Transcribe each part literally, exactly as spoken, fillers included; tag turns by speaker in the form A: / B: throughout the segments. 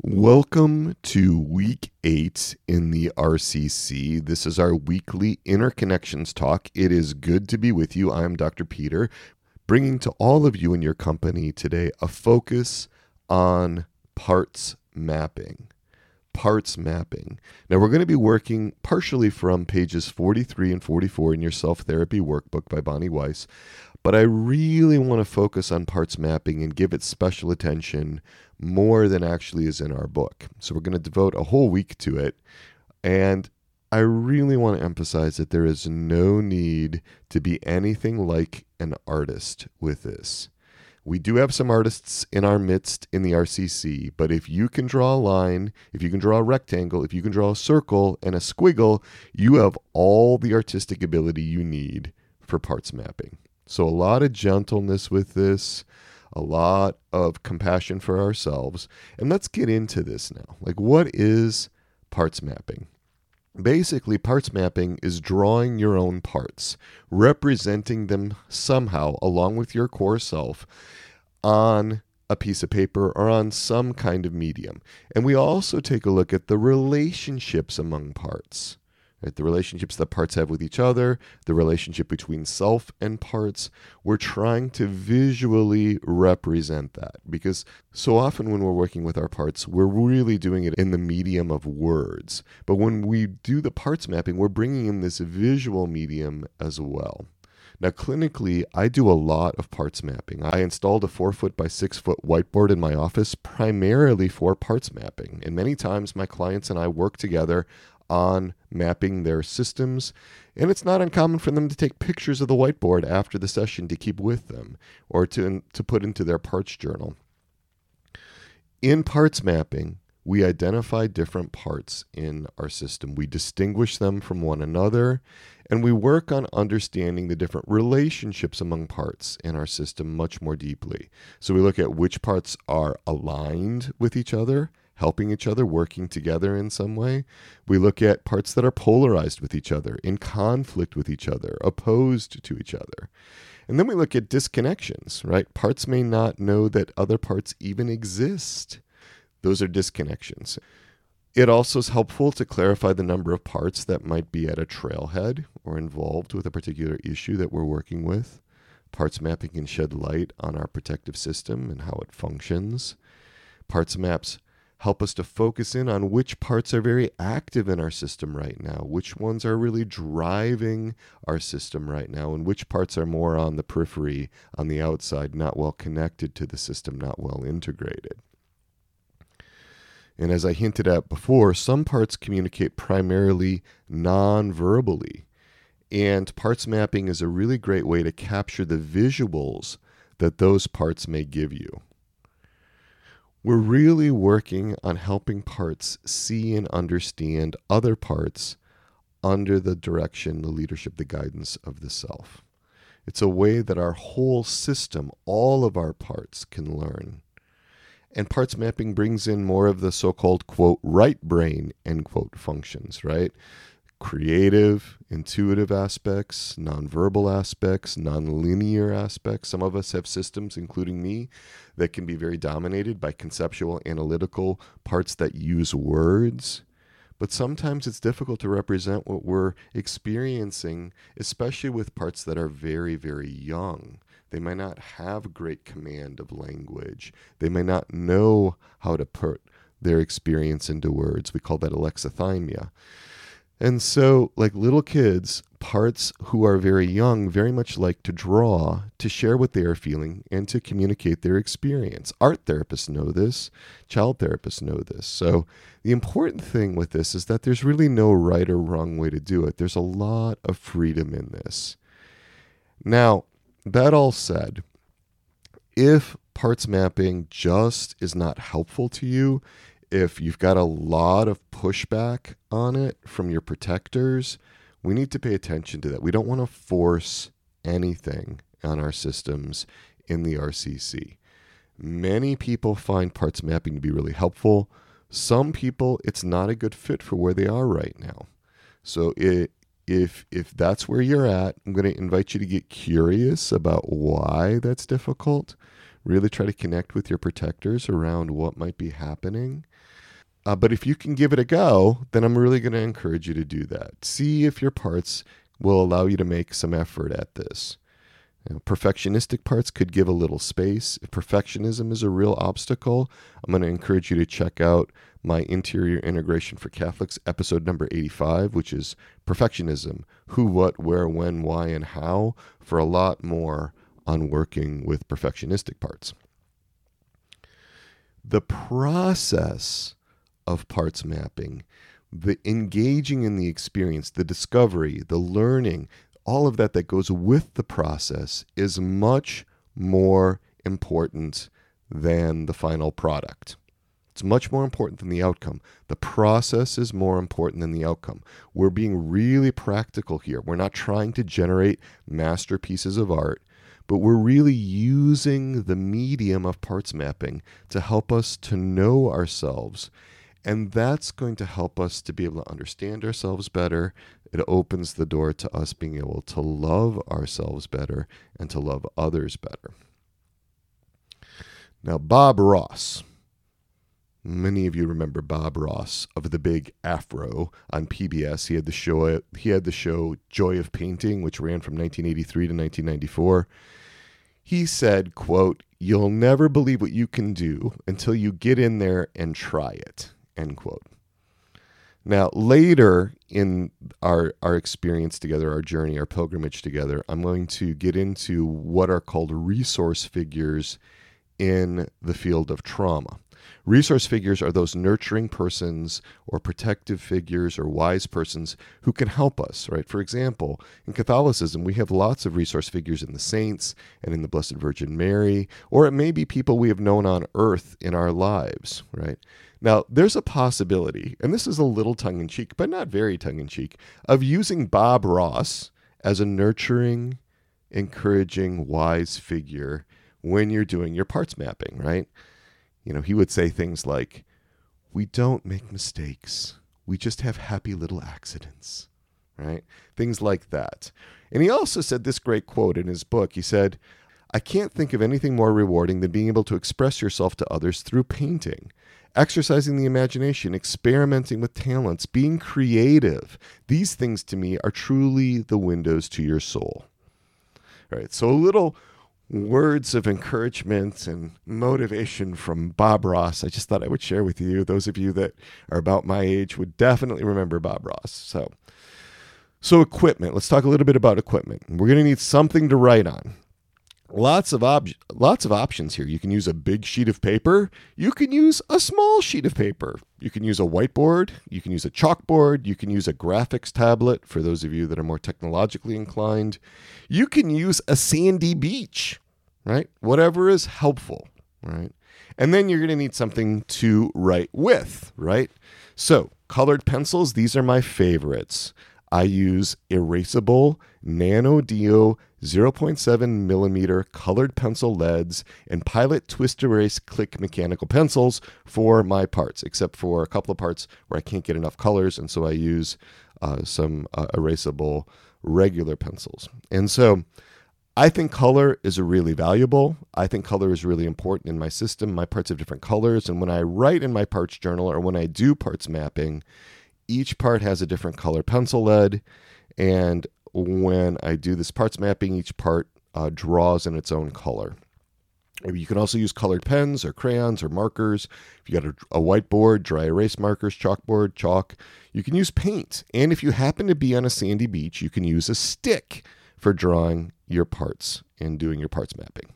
A: Welcome to week eight in the R C C. This is our weekly interconnections talk. It is good to be with you. I'm Doctor Peter, bringing to all of you in your company today a focus on parts mapping. Parts mapping. Now, we're going to be working partially from pages forty-three and forty-four in your self-therapy workbook by Bonnie Weiss, but I really want to focus on parts mapping and give it special attention more than actually is in our book. So we're going to devote a whole week to it, and I really want to emphasize that there is no need to be anything like an artist with this. We do have some artists in our midst in the R C C, but if you can draw a line, if you can draw a rectangle, if you can draw a circle and a squiggle, you have all the artistic ability you need for parts mapping. So a lot of gentleness with this, a lot of compassion for ourselves. And let's get into this now. Like, what is parts mapping? Basically, parts mapping is drawing your own parts, representing them somehow along with your core self on a piece of paper or on some kind of medium. And we also take a look at the relationships among parts, right? The relationships that parts have with each other, the relationship between self and parts. We're trying to visually represent that because so often when we're working with our parts, we're really doing it in the medium of words. But when we do the parts mapping, we're bringing in this visual medium as well. Now, clinically, I do a lot of parts mapping. I installed a four foot by six foot whiteboard in my office primarily for parts mapping. And many times my clients and I work together on mapping their systems. And it's not uncommon for them to take pictures of the whiteboard after the session to keep with them or to, to put into their parts journal. In parts mapping, we identify different parts in our system. We distinguish them from one another, and we work on understanding the different relationships among parts in our system much more deeply. So we look at which parts are aligned with each other, helping each other, working together in some way. We look at parts that are polarized with each other, in conflict with each other, opposed to each other. And then we look at disconnections, right? Parts may not know that other parts even exist. Those are disconnections. It also is helpful to clarify the number of parts that might be at a trailhead or involved with a particular issue that we're working with. Parts mapping can shed light on our protective system and how it functions. Parts maps help us to focus in on which parts are very active in our system right now, which ones are really driving our system right now, and which parts are more on the periphery, on the outside, not well connected to the system, not well integrated. And as I hinted at before, some parts communicate primarily non-verbally. And parts mapping is a really great way to capture the visuals that those parts may give you. We're really working on helping parts see and understand other parts under the direction, the leadership, the guidance of the self. It's a way that our whole system, all of our parts, can learn. And parts mapping brings in more of the so-called, quote, right brain, end quote, functions, right? Creative, intuitive aspects, nonverbal aspects, nonlinear aspects. Some of us have systems, including me, that can be very dominated by conceptual, analytical parts that use words. But sometimes it's difficult to represent what we're experiencing, especially with parts that are very, very young. They might not have great command of language. They may not know how to put their experience into words. We call that alexithymia. And so, like little kids, parts who are very young very much like to draw, to share what they are feeling, and to communicate their experience. Art therapists know this. Child therapists know this. So the important thing with this is that there's really no right or wrong way to do it. There's a lot of freedom in this. Now, that all said, if parts mapping just is not helpful to you, if you've got a lot of pushback on it from your protectors, we need to pay attention to that. We don't want to force anything on our systems in the R C C. Many people find parts mapping to be really helpful. Some people, it's not a good fit for where they are right now. So it If if that's where you're at, I'm going to invite you to get curious about why that's difficult. Really try to connect with your protectors around what might be happening. Uh, but if you can give it a go, then I'm really going to encourage you to do that. See if your parts will allow you to make some effort at this. You know, perfectionistic parts could give a little space. If perfectionism is a real obstacle, I'm going to encourage you to check out my Interior Integration for Catholics, episode number eighty-five, which is Perfectionism, Who, What, Where, When, Why, and How, for a lot more on working with perfectionistic parts. The process of parts mapping, the engaging in the experience, the discovery, the learning, all of that that goes with the process is much more important than the final product. It's much more important than the outcome. The process is more important than the outcome. We're being really practical here. We're not trying to generate masterpieces of art, but we're really using the medium of parts mapping to help us to know ourselves. And that's going to help us to be able to understand ourselves better. It opens the door to us being able to love ourselves better and to love others better. Now, Bob Ross. Many of you remember Bob Ross of the Big Afro on P B S. He had the show, he had the show Joy of Painting, which ran from nineteen eighty-three to nineteen ninety-four. He said, quote, "You'll never believe what you can do until you get in there and try it," end quote. Now, later in our, our experience together, our journey, our pilgrimage together, I'm going to get into what are called resource figures in the field of trauma. Resource figures are those nurturing persons or protective figures or wise persons who can help us, right? For example, in Catholicism, we have lots of resource figures in the saints and in the Blessed Virgin Mary, or it may be people we have known on earth in our lives, right? Now, there's a possibility, and this is a little tongue-in-cheek, but not very tongue-in-cheek, of using Bob Ross as a nurturing, encouraging, wise figure when you're doing your parts mapping, right? You know, he would say things like, "We don't make mistakes. We just have happy little accidents," right? Things like that. And he also said this great quote in his book. He said, "I can't think of anything more rewarding than being able to express yourself to others through painting. Exercising the imagination, experimenting with talents, being creative. These things to me are truly the windows to your soul." All right, so a little words of encouragement and motivation from Bob Ross. I just thought I would share with you. Those of you that are about my age would definitely remember Bob Ross. So, so equipment. Let's talk a little bit about equipment. We're going to need something to write on. Lots of ob- lots of options here. You can use a big sheet of paper. You can use a small sheet of paper. You can use a whiteboard. You can use a chalkboard. You can use a graphics tablet for those of you that are more technologically inclined. You can use a sandy beach, right? Whatever is helpful, right? And then you're going to need something to write with, right? So colored pencils, these are my favorites. I use erasable Nano Dio zero point seven millimeter colored pencil leads and Pilot Twist Erase Click mechanical pencils for my parts, except for a couple of parts where I can't get enough colors, and so I use uh, some uh, erasable regular pencils. And so I think color is really valuable. I think color is really important in my system. My parts have different colors, and when I write in my parts journal or when I do parts mapping, each part has a different color pencil lead, and when I do this parts mapping, each part uh, draws in its own color. You can also use colored pens or crayons or markers. If you got a, a whiteboard, dry erase markers, chalkboard, chalk, you can use paint. And if you happen to be on a sandy beach, you can use a stick for drawing your parts and doing your parts mapping.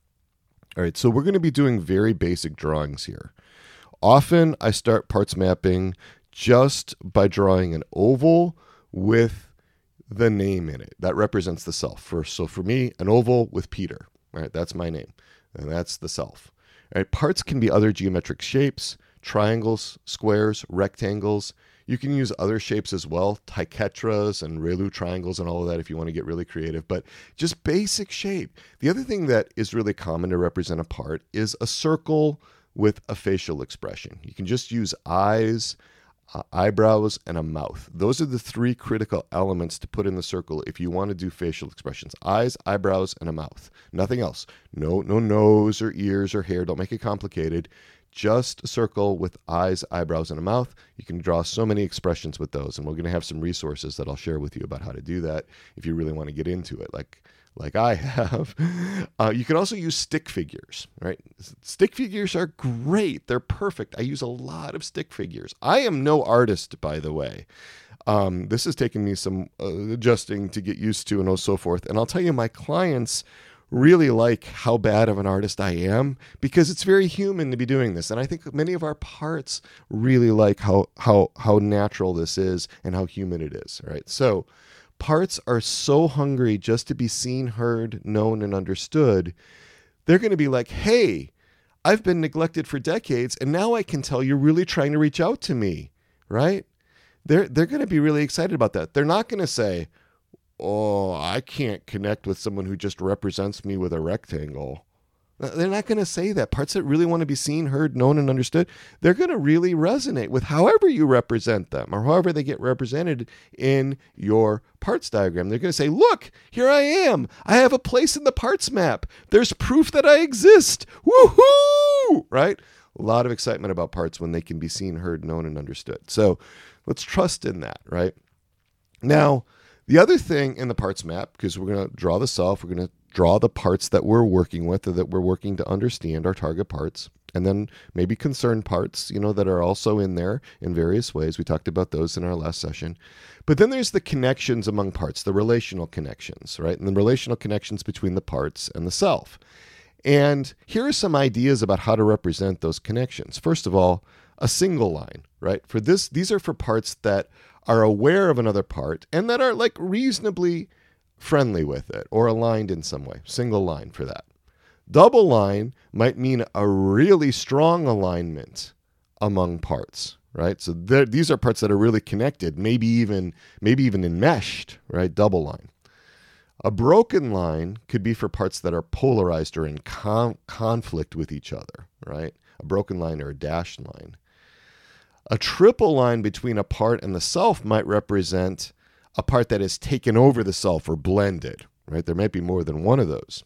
A: All right, so we're going to be doing very basic drawings here. Often I start parts mapping just by drawing an oval with the name in it. That represents the self. For, so for me, an oval with Peter, right? That's my name, and that's the self. All right, parts can be other geometric shapes, triangles, squares, rectangles. You can use other shapes as well, triquetras and Relu triangles and all of that if you want to get really creative, but just basic shape. The other thing that is really common to represent a part is a circle with a facial expression. You can just use eyes, uh, eyebrows, and a mouth. Those are the three critical elements to put in the circle if you want to do facial expressions. Eyes, eyebrows, and a mouth. Nothing else. No, no nose or ears or hair. Don't make it complicated. Just a circle with eyes, eyebrows, and a mouth. You can draw so many expressions with those, and we're going to have some resources that I'll share with you about how to do that if you really want to get into it, like like I have. Uh, you can also use stick figures, right? Stick figures are great. They're perfect. I use a lot of stick figures. I am no artist, by the way. Um, this has taken me some uh, adjusting to get used to and so forth. And I'll tell you, my clients really like how bad of an artist I am because it's very human to be doing this. And I think many of our parts really like how how how natural this is and how human it is, right? So parts are so hungry just to be seen, heard, known, and understood. They're going to be like, hey, I've been neglected for decades, and now I can tell you're really trying to reach out to me, right? They're, they're going to be really excited about that. They're not going to say, oh, I can't connect with someone who just represents me with a rectangle. They're not going to say that. Parts that really want to be seen, heard, known, and understood, they're going to really resonate with however you represent them or however they get represented in your parts diagram. They're going to say, look, here I am. I have a place in the parts map. There's proof that I exist. Woohoo! Right? A lot of excitement about parts when they can be seen, heard, known, and understood. So let's trust in that, right? Now, the other thing in the parts map, because we're going to draw the self, we're going to draw the parts that we're working with or that we're working to understand, our target parts, and then maybe concern parts, you know, that are also in there in various ways. We talked about those in our last session. But then there's the connections among parts, the relational connections, right? And the relational connections between the parts and the self. And here are some ideas about how to represent those connections. First of all, a single line, right? For this, these are for parts that are aware of another part and that are like reasonably friendly with it or aligned in some way. Single line for that. Double line might mean a really strong alignment among parts, right? So these are parts that are really connected, maybe even maybe even enmeshed, right? Double line. A broken line could be for parts that are polarized or in con- conflict with each other, right? A broken line or a dashed line. A triple line between a part and the self might represent a part that has taken over the self or blended, right? There might be more than one of those,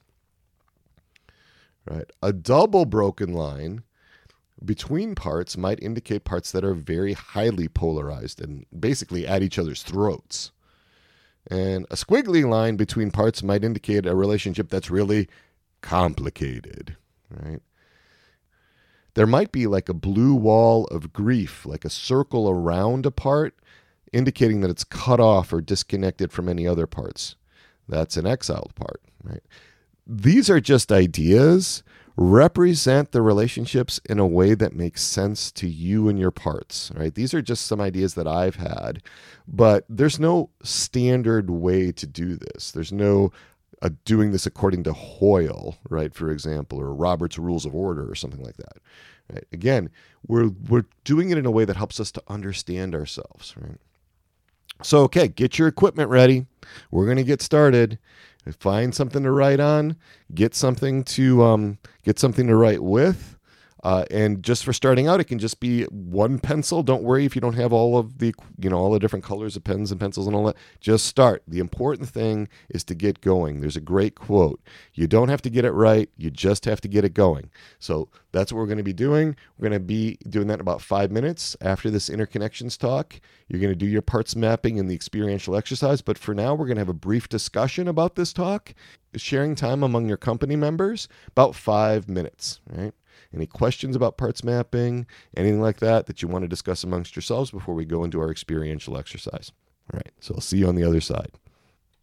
A: right? A double broken line between parts might indicate parts that are very highly polarized and basically at each other's throats. And a squiggly line between parts might indicate a relationship that's really complicated, right? There might be like a blue wall of grief, like a circle around a part, indicating that it's cut off or disconnected from any other parts. That's an exiled part, right? These are just ideas. Represent the relationships in a way that makes sense to you and your parts, right? These are just some ideas that I've had, but there's no standard way to do this. There's no uh, doing this according to Hoyle, right, for example, or Robert's Rules of Order or something like that. Right? Again, we're we're doing it in a way that helps us to understand ourselves, right? So, okay, get your equipment ready. We're going to get started. Find something to write on. Get something to um, get something to write with. Uh, and just for starting out, it can just be one pencil. Don't worry if you don't have all of the, you know, all the different colors of pens and pencils and all that. Just start. The important thing is to get going. There's a great quote. You don't have to get it right. You just have to get it going. So that's what we're going to be doing. We're going to be doing that in about five minutes after this interconnections talk. You're going to do your parts mapping and the experiential exercise. But for now, we're going to have a brief discussion about this talk, sharing time among your company members, about five minutes, right? Any questions about parts mapping, anything like that that you want to discuss amongst yourselves before we go into our experiential exercise? All right, so I'll see you on the other side.